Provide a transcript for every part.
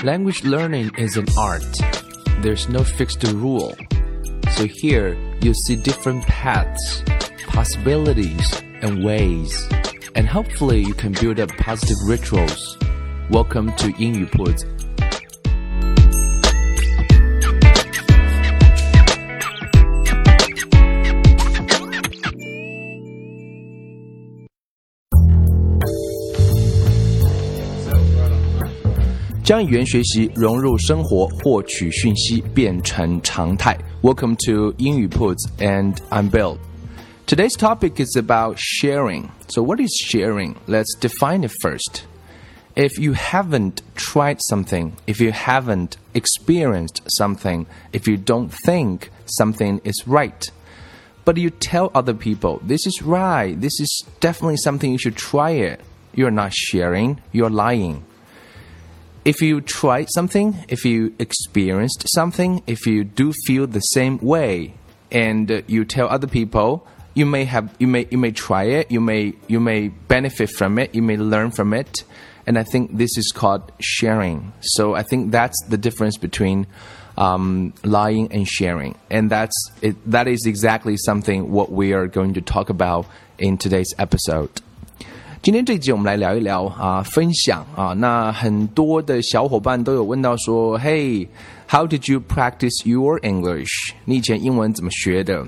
Language learning is an art. There's no fixed rule. So here, you'll see different paths, possibilities, and ways. And hopefully you can build up positive rituals. Welcome to 英语铺子。将语言学习融入生活，获取讯息变成常态。Welcome to 英语铺子 and I'm Bill. Today's topic is about sharing. So what is sharing? Let's define it first. If you haven't tried something, if you haven't experienced something, if you don't think something is right, but you tell other people, this is right, this is definitely something you should try it, you're not sharing, you're lying.If you tried something, if you experienced something, if you do feel the same way, and you tell other people, you may try it, you may benefit from it, you may learn from it, and I think this is called sharing. So I think that's the difference between lying and sharing, and that is exactly something what we are going to talk about in today's episode.今天这一集我们来聊一聊分享那很多的小伙伴都有问到说 Hey, how did you practice your English? 你以前英文怎么学的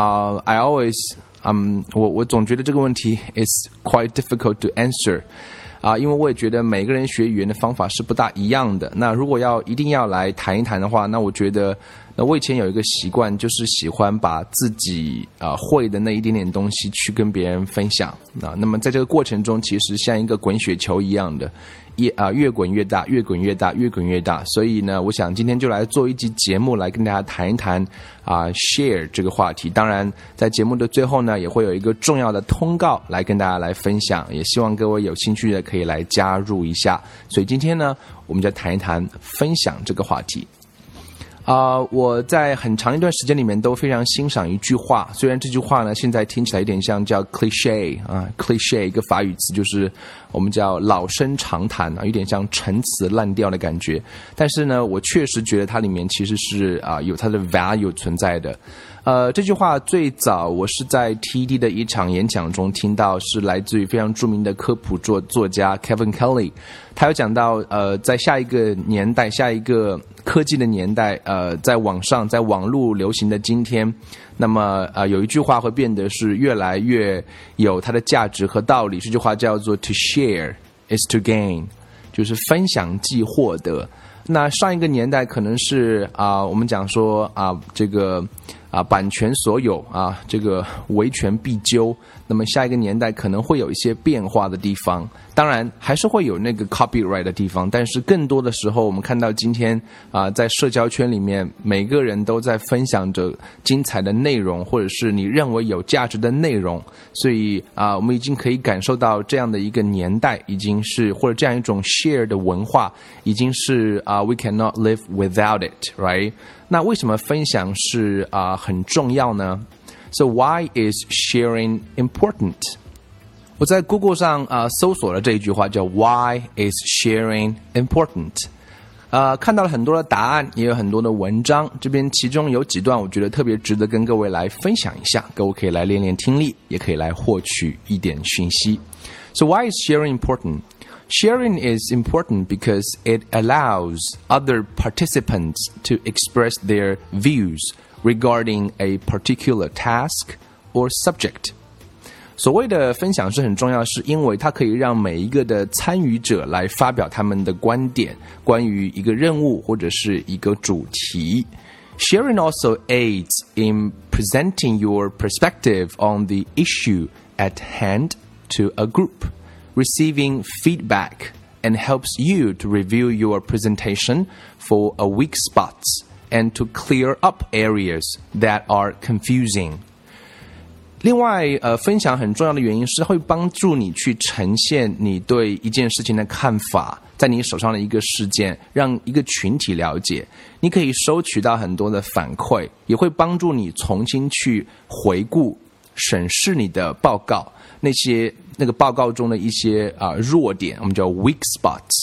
I always 我总觉得这个问题 is quite difficult to answer因为我也觉得每个人学语言的方法是不大一样的。那如果一定要来谈一谈的话，那我觉得我以前有一个习惯，就是喜欢把自己会的那一点点东西去跟别人分享那么在这个过程中，其实像一个滚雪球一样的越滚越大，越滚越大，越滚越大。所以呢，我想今天就来做一集节目来跟大家谈一谈share 这个话题。当然在节目的最后呢，也会有一个重要的通告来跟大家来分享，也希望各位有兴趣的可以来加入一下。所以今天呢，我们就谈一谈分享这个话题。我在很长一段时间里面都非常欣赏一句话，虽然这句话呢现在听起来有点像叫 cliché cliché 一个法语词，就是我们叫老生常谈有点像陈词滥调的感觉，但是呢我确实觉得它里面其实是有它的 value 存在的。这句话最早我是在 TED 的一场演讲中听到，是来自于非常著名的科普作家 Kevin Kelly。他有讲到在下一个年代，下一个科技的年代在网络流行的今天，那么有一句话会变得是越来越有它的价值和道理。这句话叫做 To share is to gain， 就是分享即获得。那上一个年代可能是我们讲说这个版权所有这个维权必究，那么下一个年代可能会有一些变化的地方，当然还是会有那个 copyright 的地方，但是更多的时候我们看到今天在社交圈里面每个人都在分享着精彩的内容，或者是你认为有价值的内容，所以我们已经可以感受到这样的一个年代已经是，或者这样一种 share 的文化已经是we cannot live without it, right？ 那为什么分享是很重要呢？ So why is sharing important？ 我在 Google 上搜索了这一句话叫 Why is sharing important？ 看到了很多的答案，也有很多的文章，这边其中有几段我觉得特别值得跟各位来分享一下，各位可以来练练听力，也可以来获取一点讯息。 So why is sharing important?Sharing is important because it allows other participants to express their views regarding a particular task or subject. 所谓的分享是很重要，是因为它可以让每一个的参与者来发表他们的观点，关于一个任务或者是一个主题。Sharing also aids in presenting your perspective on the issue at hand to a group.Receiving feedback and helps you to review your presentation for a weak spots and to clear up areas that are confusing. 另外分享很重要的原因是会帮助你去呈现你对一件事情的看法，在你手上的一个事件，让一个群体了解，你可以收取到很多的反馈，也会帮助你重新去回顾审视你的报告，那个报告中的一些弱点，我们叫 weak spots，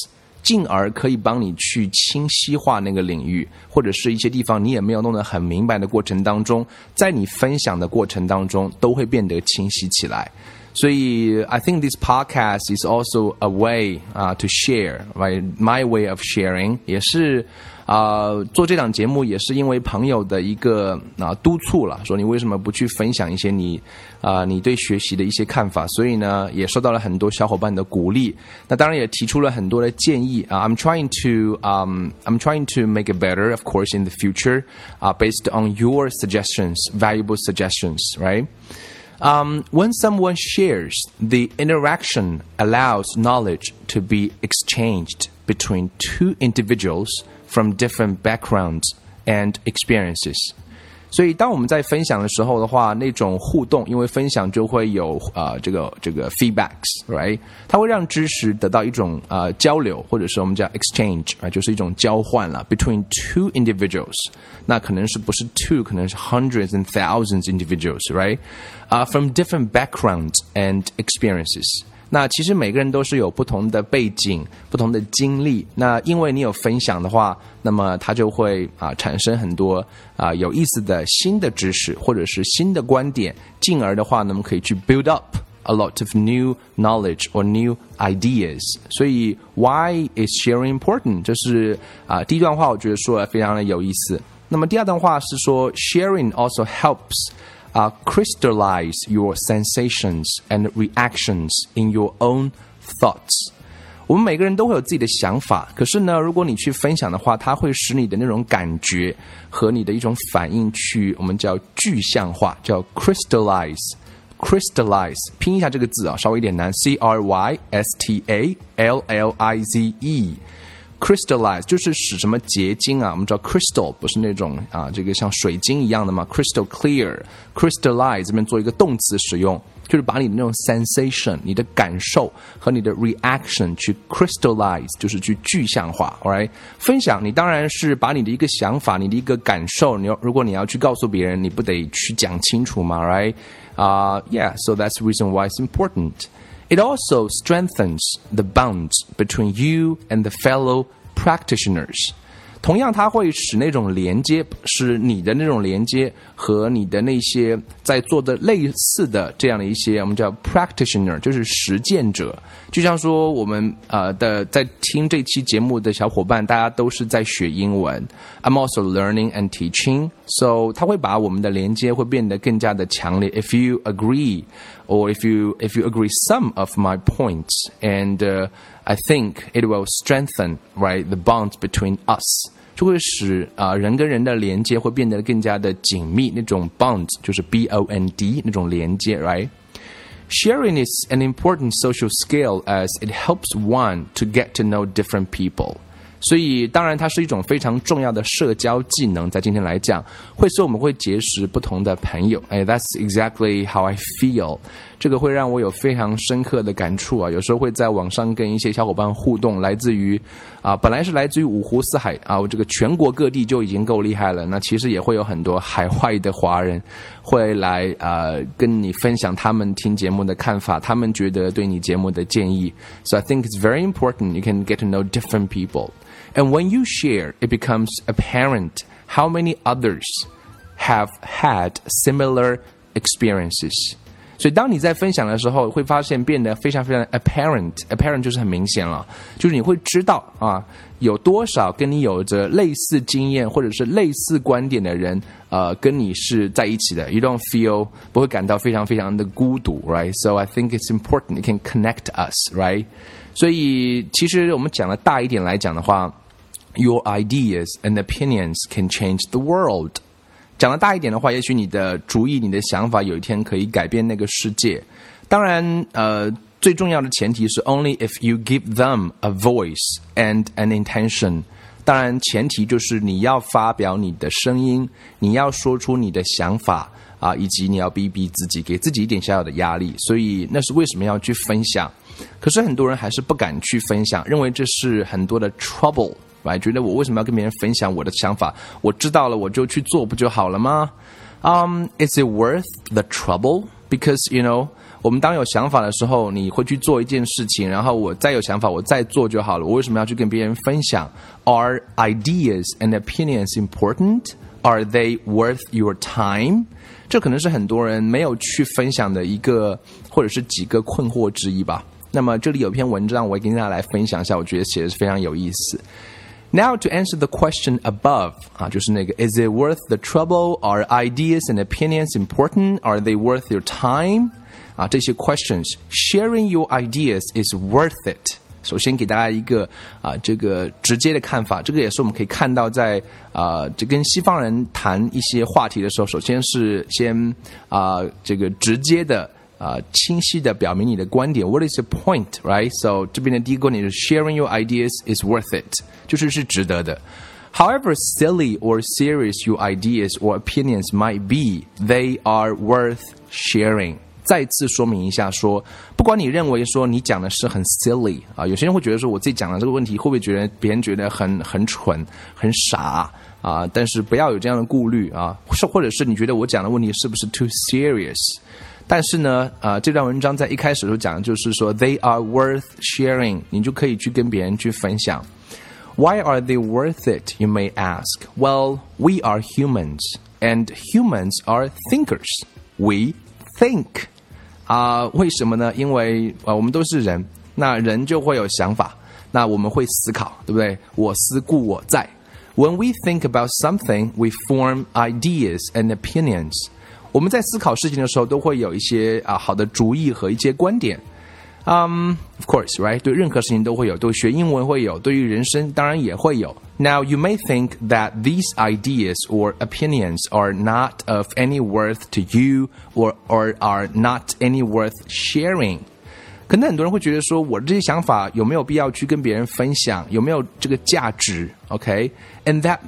进而可以帮你去清晰化那个领域，或者是一些地方你也没有弄得很明白的过程当中，在你分享的过程当中都会变得清晰起来。所以 I think this podcast is also a way to share, right? My way of sharing 也是做这档节目也是因为朋友的一个督促了，说你为什么不去分享一些你对学习的一些看法，所以呢也受到了很多小伙伴的鼓励，那当然也提出了很多的建议I'm trying to make it better, of course, in the future, based on your suggestions, valuable suggestions, right? When someone shares, the interaction allows knowledge to be exchanged between two individuals from different backgrounds and experiences. 所以当我们在分享的时候的话，那种互动，因为分享就会有这个 feedbacks, right? 它会让知识得到一种交流，或者是我们叫 exchange, right? 就是一种交换了 between two individuals. 那可能是不是 two, 可能是 hundreds and thousands individuals, right? From different backgrounds and experiences. 那其实每个人都是有不同的背景、不同的经历。那因为你有分享的话，那么它就会产生很多有意思的新的知识，或者是新的观点，进而的话呢，我们可以去 build up a lot of new knowledge or new ideas. 所以 why is sharing important? 这是第一段话，我觉得说得非常的有意思。那么第二段话是说 sharing also helps.Crystallize your sensations and reactions in your own thoughts. 我们每个人都会有自己的想法，可是呢，如果你去分享的话，它会使你的那种感觉和你的一种反应去，我们叫具象化，叫 crystallize。crystallize 拼一下这个字稍微有点难 crystallize。crystallize 就是使什么结晶我们知道 crystal 不是那种这个像水晶一样的嘛 crystal clear crystallize 这边做一个动词使用，就是把你的那种 sensation 你的感受和你的 reaction 去 crystallize 就是去具象化 alright 分享你当然是把你的一个想法你的一个感受如果你要去告诉别人你不得去讲清楚嘛 right yeah so that's the reason why it's important.It also strengthens the bonds between you and the fellow practitioners. 同样它会使那种连接使你的那种连接和你的那些在做的类似的这样的一些我们叫 practitioner 就是实践者就像说我们在听这期节目的小伙伴大家都是在学英文 I'm also learning and teaching so 它会把我们的连接会变得更加的强烈 If you agree or if you agree some of my points and I think it will strengthen right the bonds between us 就会使人跟人的连接会变得更加的紧密那种 bond 就是 B-O-N-D 那种连接 right Sharing is an important social skill as it helps one to get to know different people所以当然它是一种非常重要的社交技能在今天来讲会使我们会结识不同的朋友That's exactly how I feel 这个会让我有非常深刻的感触有时候会在网上跟一些小伙伴互动来自于本来是来自于五湖四海这个全国各地就已经够厉害了那其实也会有很多海外的华人会来跟你分享他们听节目的看法他们觉得对你节目的建议 So I think it's very important you can get to know different people.And when you share, it becomes apparent how many others have had similar experiences. 所以当你在分享的时候会发现变得非常非常 apparent 就是很明显了就是你会知道有多少跟你有着类似经验或者是类似观点的人跟你是在一起的 You don't feel 不会感到非常非常的孤独 right? So I think it's important it can connect us right? 所以其实我们讲的大一点来讲的话Your ideas and opinions can change the world. 讲得大一点的话，也许你的主意、你的想法有一天可以改变那个世界。当然，最重要的前提是 only if you give them a voice and an intention. 当然，前提就是你要发表你的声音，你要说出你的想法以及你要逼自己，给自己一点小小的压力。所以那是为什么要去分享。可是很多人还是不敢去分享，认为这是很多的 trouble。觉得我为什么要跟别人分享我的想法我知道了我就去做不就好了吗Is it worth the trouble? Because, you know, 我们当有想法的时候，你会去做一件事情，然后我再有想法，我再做就好了。我为什么要去跟别人分享 ？Are ideas and opinions important? Are they worth your time? 这可能是很多人没有去分享的一个或者是几个困惑之一吧。那么这里有篇文章，我也跟大家来分享一下，我觉得写的是非常有意思。Now to answer the question above 就是那个 Is it worth the trouble? Are ideas and opinions important? Are they worth your time? 这些 questions, sharing your ideas is worth it. 首先给大家一个这个直接的看法，这个也是我们可以看到在这跟西方人谈一些话题的时候，首先是先这个直接的清晰的表明你的观点 What is the point, right? So 这边的第一个观点是 Sharing your ideas is worth it 就是值得的 However silly or serious your ideas or opinions might be, they are worth sharing 再次说明一下说不管你认为说你讲的是很 silly 有些人会觉得说我自己讲的这个问题会不会觉得别人觉得很蠢很傻但是不要有这样的顾虑或者是你觉得我讲的问题是不是 too serious但是呢这段文章在一开始的时候讲的就是说 they are worth sharing 你就可以去跟别人去分享 Why are they worth it? You may ask. Well, we are humans and humans are thinkers. We think. 为什么呢？因为我们都是人，那人就会有想法，那我们会思考，对不对？我思故我在。When we think about something, we form ideas and opinions. 我们在思考事情的时候，都会有一些好的主意和一些观点。Of course, right? 对任何事情都会有，对学英文会有，对于人生当然也会有。Now, you may think that these ideas or opinions are not of any worth to you or are not any worth sharing. 可能很多人会觉得说，我这些想法有没有必要去跟别人分享？有没有这个价值 ？Okay, and that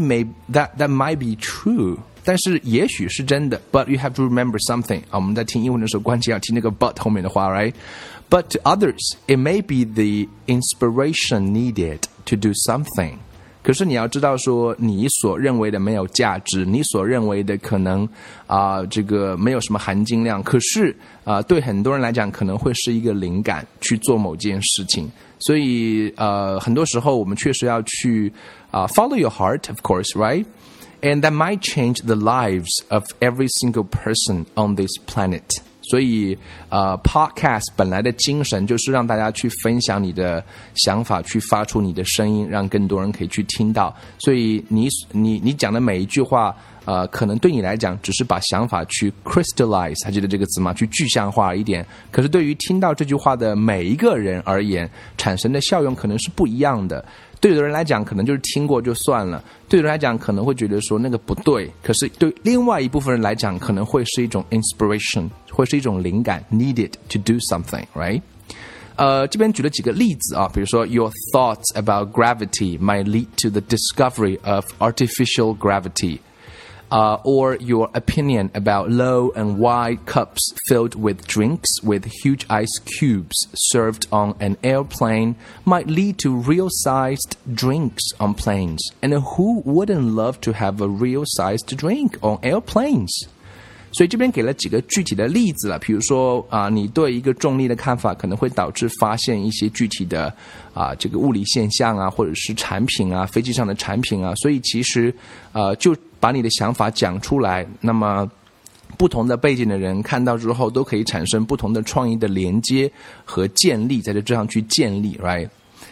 might be true. 但是也许是真的 ，but you have to remember something. 我们在听英文的时候，关键要听那个 but 后面的话 ，right? But to others, it may be the inspiration needed to do something. 可是你要知道说，你所认为的没有价值，你所认为的可能这个没有什么含金量，可是对很多人来讲，可能会是一个灵感去做某件事情。所以很多时候我们确实要去follow your heart, of course, right? And that might change the lives of every single person on this planet. 所以podcast 本来的精神就是让大家去分享你的想法，去发出你的声音，让更多人可以去听到。所以你讲的每一句话可能对你来讲只是把想法去 crystallize 还记得这个词吗？去具象化一点。可是对于听到这句话的每一个人而言，产生的效用可能是不一样的。对有的人来讲可能就是听过就算了，对有的人来讲可能会觉得说那个不对，可是对另外一部分人来讲可能会是一种 inspiration， 会是一种灵感 needed to do something, right? 这边举了几个例子比如说 Your thoughts about gravity might lead to the discovery of artificial gravity.Or your opinion about low and wide cups filled with drinks with huge ice cubes served on an airplane might lead to real-sized drinks on planes. And who wouldn't love to have a real-sized drink on airplanes?所以这边给了几个具体的例子了，比如说你对一个重力的看法可能会导致发现一些具体的这个物理现象或者是产品飞机上的产品所以其实就把你的想法讲出来，那么不同的背景的人看到之后都可以产生不同的创意的连接和建立，在这上去建立 right?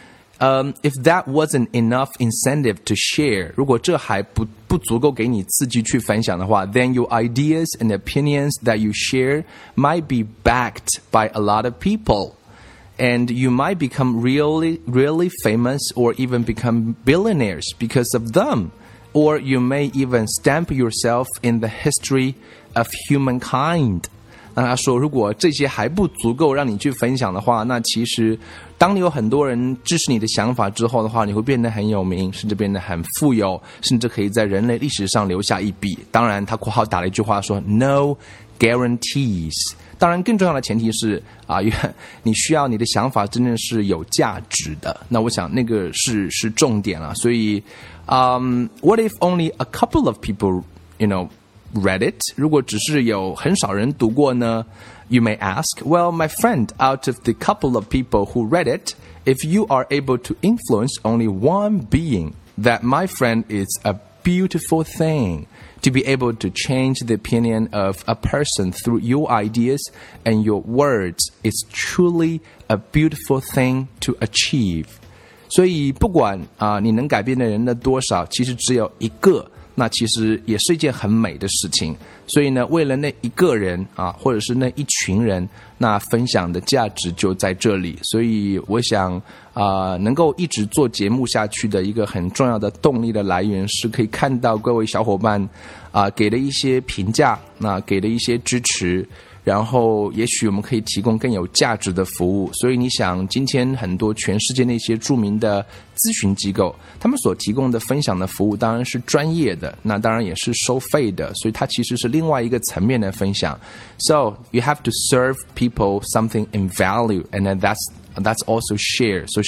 If that wasn't enough incentive to share, 如果这还不足够给你刺激去分享的话 then your ideas and opinions that you share might be backed by a lot of people. And you might become really, really famous or even become billionaires because of them. Or you may even stamp yourself in the history of humankind.那他说如果这些还不足够让你去分享的话，那其实当你有很多人支持你的想法之后的话，你会变得很有名，甚至变得很富有，甚至可以在人类历史上留下一笔。当然他括号打了一句话说 No guarantees， 当然更重要的前提是你需要你的想法真正是有价值的，那我想那个是重点了。所以what if only a couple of people read it? 如果只是有很少人读过呢 You may ask, well, my friend, out of the couple of people who read it, if you are able to influence only one being, that my friend is a beautiful thing. To be able to change the opinion of a person through your ideas and your words is truly a beautiful thing to achieve. 所以不管你能改变的人的多少，其实只有一个，那其实也是一件很美的事情。所以呢，为了那一个人或者是那一群人，那分享的价值就在这里。所以我想能够一直做节目下去的一个很重要的动力的来源，是可以看到各位小伙伴给的一些评价，那给的一些支持，然后也许我们可以提供更有价值的服务。所以你想，今天很多全世界那些著名的咨询机构，他们所提供的分享的服务当然是专业的，那当然也是收费的，所以它其实是另外一个层面的分享。So you have to serve people something in value, and then that's also share. So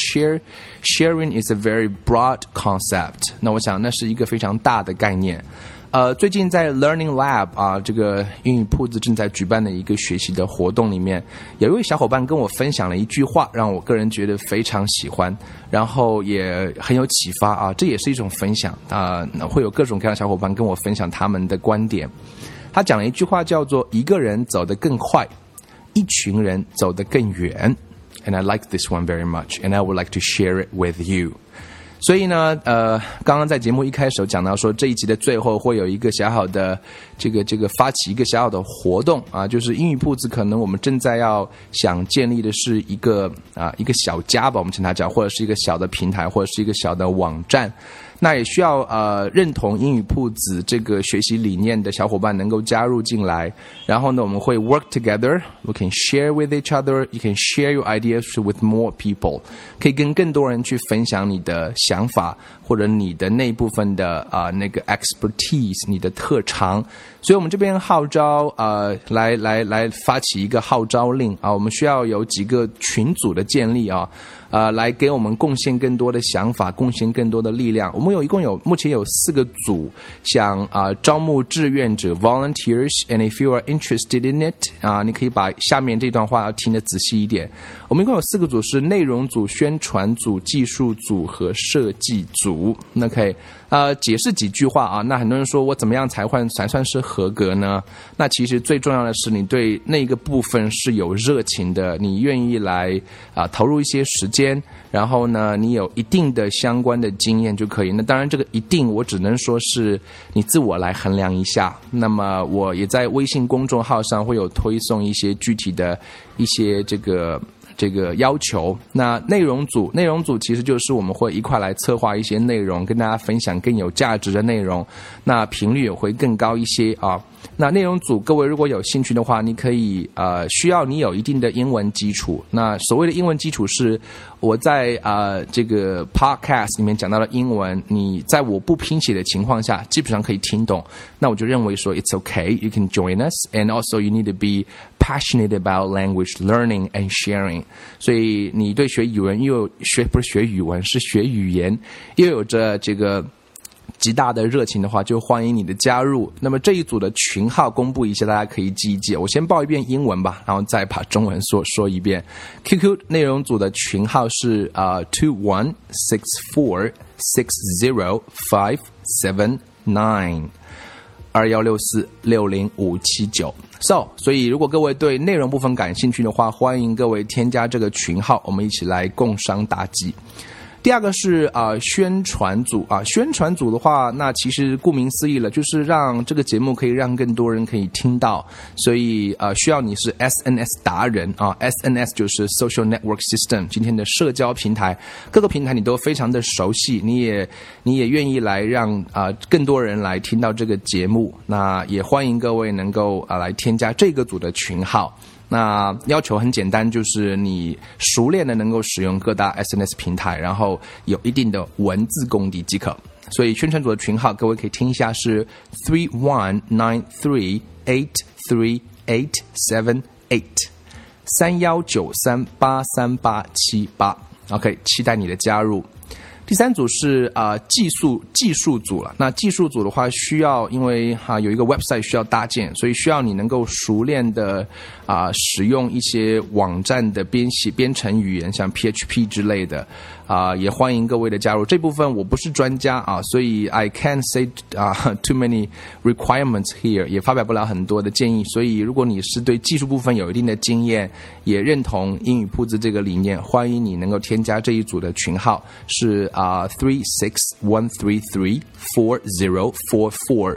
sharing is a very broad concept. 那我想那是一个非常大的概念。最近在 Learning Lab 这个英语铺子正在举办的一个学习的活动里面，有一位小伙伴跟我分享了一句话，让我个人觉得非常喜欢，然后也很有启发这也是一种分享会有各种各样的小伙伴跟我分享他们的观点。他讲了一句话叫做一个人走得更快，一群人走得更远。And I like this one very much, and I would like to share it with you. 所以呢刚刚在节目一开始有讲到说，这一集的最后会有一个小小的这个发起一个小小的活动就是英语铺子可能我们正在要想建立的是一个小家吧，我们称它叫，或者是一个小的平台，或者是一个小的网站。那也需要认同英语铺子这个学习理念的小伙伴能够加入进来，然后呢我们会 work together, we can share with each other, you can share your ideas with more people, 可以跟更多人去分享你的想法或者你的那部分的那个 expertise, 你的特长。所以我们这边号召来发起一个号召令我们需要有几个群组的建立来给我们贡献更多的想法，贡献更多的力量。我们目前有4个组想招募志愿者 volunteers, and if you are interested in it 你可以把下面这段话要听得仔细一点。我们一共有4个组，是内容组、宣传组、技术组和设计组。那可以解释几句话那很多人说我怎么样才算是合格呢？那其实最重要的是你对那个部分是有热情的，你愿意来投入一些时间，然后呢你有一定的相关的经验就可以。那当然这个一定我只能说是你自我来衡量一下。那么我也在微信公众号上会有推送一些具体的一些这个要求。那内容组其实就是我们会一块来策划一些内容，跟大家分享更有价值的内容，那频率也会更高一些那内容组各位如果有兴趣的话，你可以需要你有一定的英文基础。那所谓的英文基础是我在这个 podcast 里面讲到的英文，你在我不拼写的情况下基本上可以听懂。那我就认为说 it's okay, you can join us, and also you need to be passionate about language learning and sharing. 所以你对学语文不是学语文，是学语言又有着这个极大的热情的话，就欢迎你的加入。那么这一组的群号公布一下，大家可以记一记。我先报一遍英文吧，然后再把中文说一遍。QQ 内容组的群号是21646057921664605792。所以如果各位对内容部分感兴趣的话，欢迎各位添加这个群号，我们一起来共商大计。第二个是宣传组宣传组的话，那其实顾名思义了，就是让这个节目可以让更多人可以听到，所以需要你是 SNS 达人SNS 就是 Social Network System， 今天的社交平台，各个平台你都非常的熟悉，你也愿意来让更多人来听到这个节目，那也欢迎各位能够来添加这个组的群号。那要求很简单，就是你熟练的能够使用各大 SNS 平台，然后有一定的文字功底即可。所以宣传组的群号各位可以听一下，是 3193838878 3193838878。OK， 期待你的加入。第第3组是技术组了。那技术组的话，需要因为有一个 website 需要搭建，所以需要你能够熟练的使用一些网站的编程语言，像 PHP 之类的。也欢迎各位的加入。这部分我不是专家所以 I can't say too many requirements here， 也发表不了很多的建议。所以如果你是对技术部分有一定的经验，也认同英语铺子这个理念，欢迎你能够添加这一组的群号，是361334044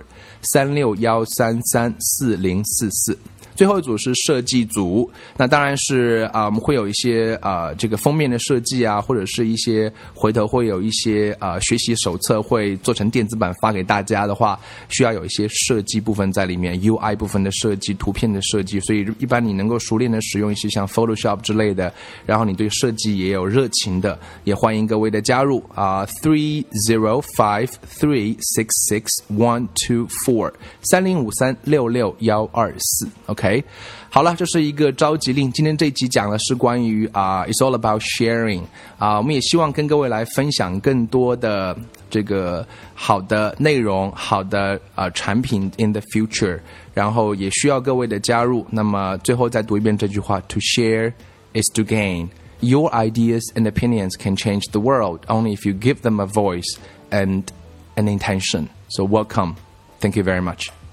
361334044。最后一组是设计组，那当然是我们会有一些这个封面的设计或者是一些回头会有一些学习手册会做成电子版发给大家的话，需要有一些设计部分在里面 ，UI 部分的设计、图片的设计，所以一般你能够熟练的使用一些像 Photoshop 之类的，然后你对设计也有热情的，也欢迎各位的加入305366124305366124 3053661244。OK， 好了，这是一个召集令。今天这一集讲的是关于It's all about sharing 我们也希望跟各位来分享更多的这个好的内容、好的产品 in the future， 然后也需要各位的加入。那么最后再读一遍这句话 ：To share is to gain. Your ideas and opinions can change the world only if you give them a voice and an intention. So welcome. Thank you very much.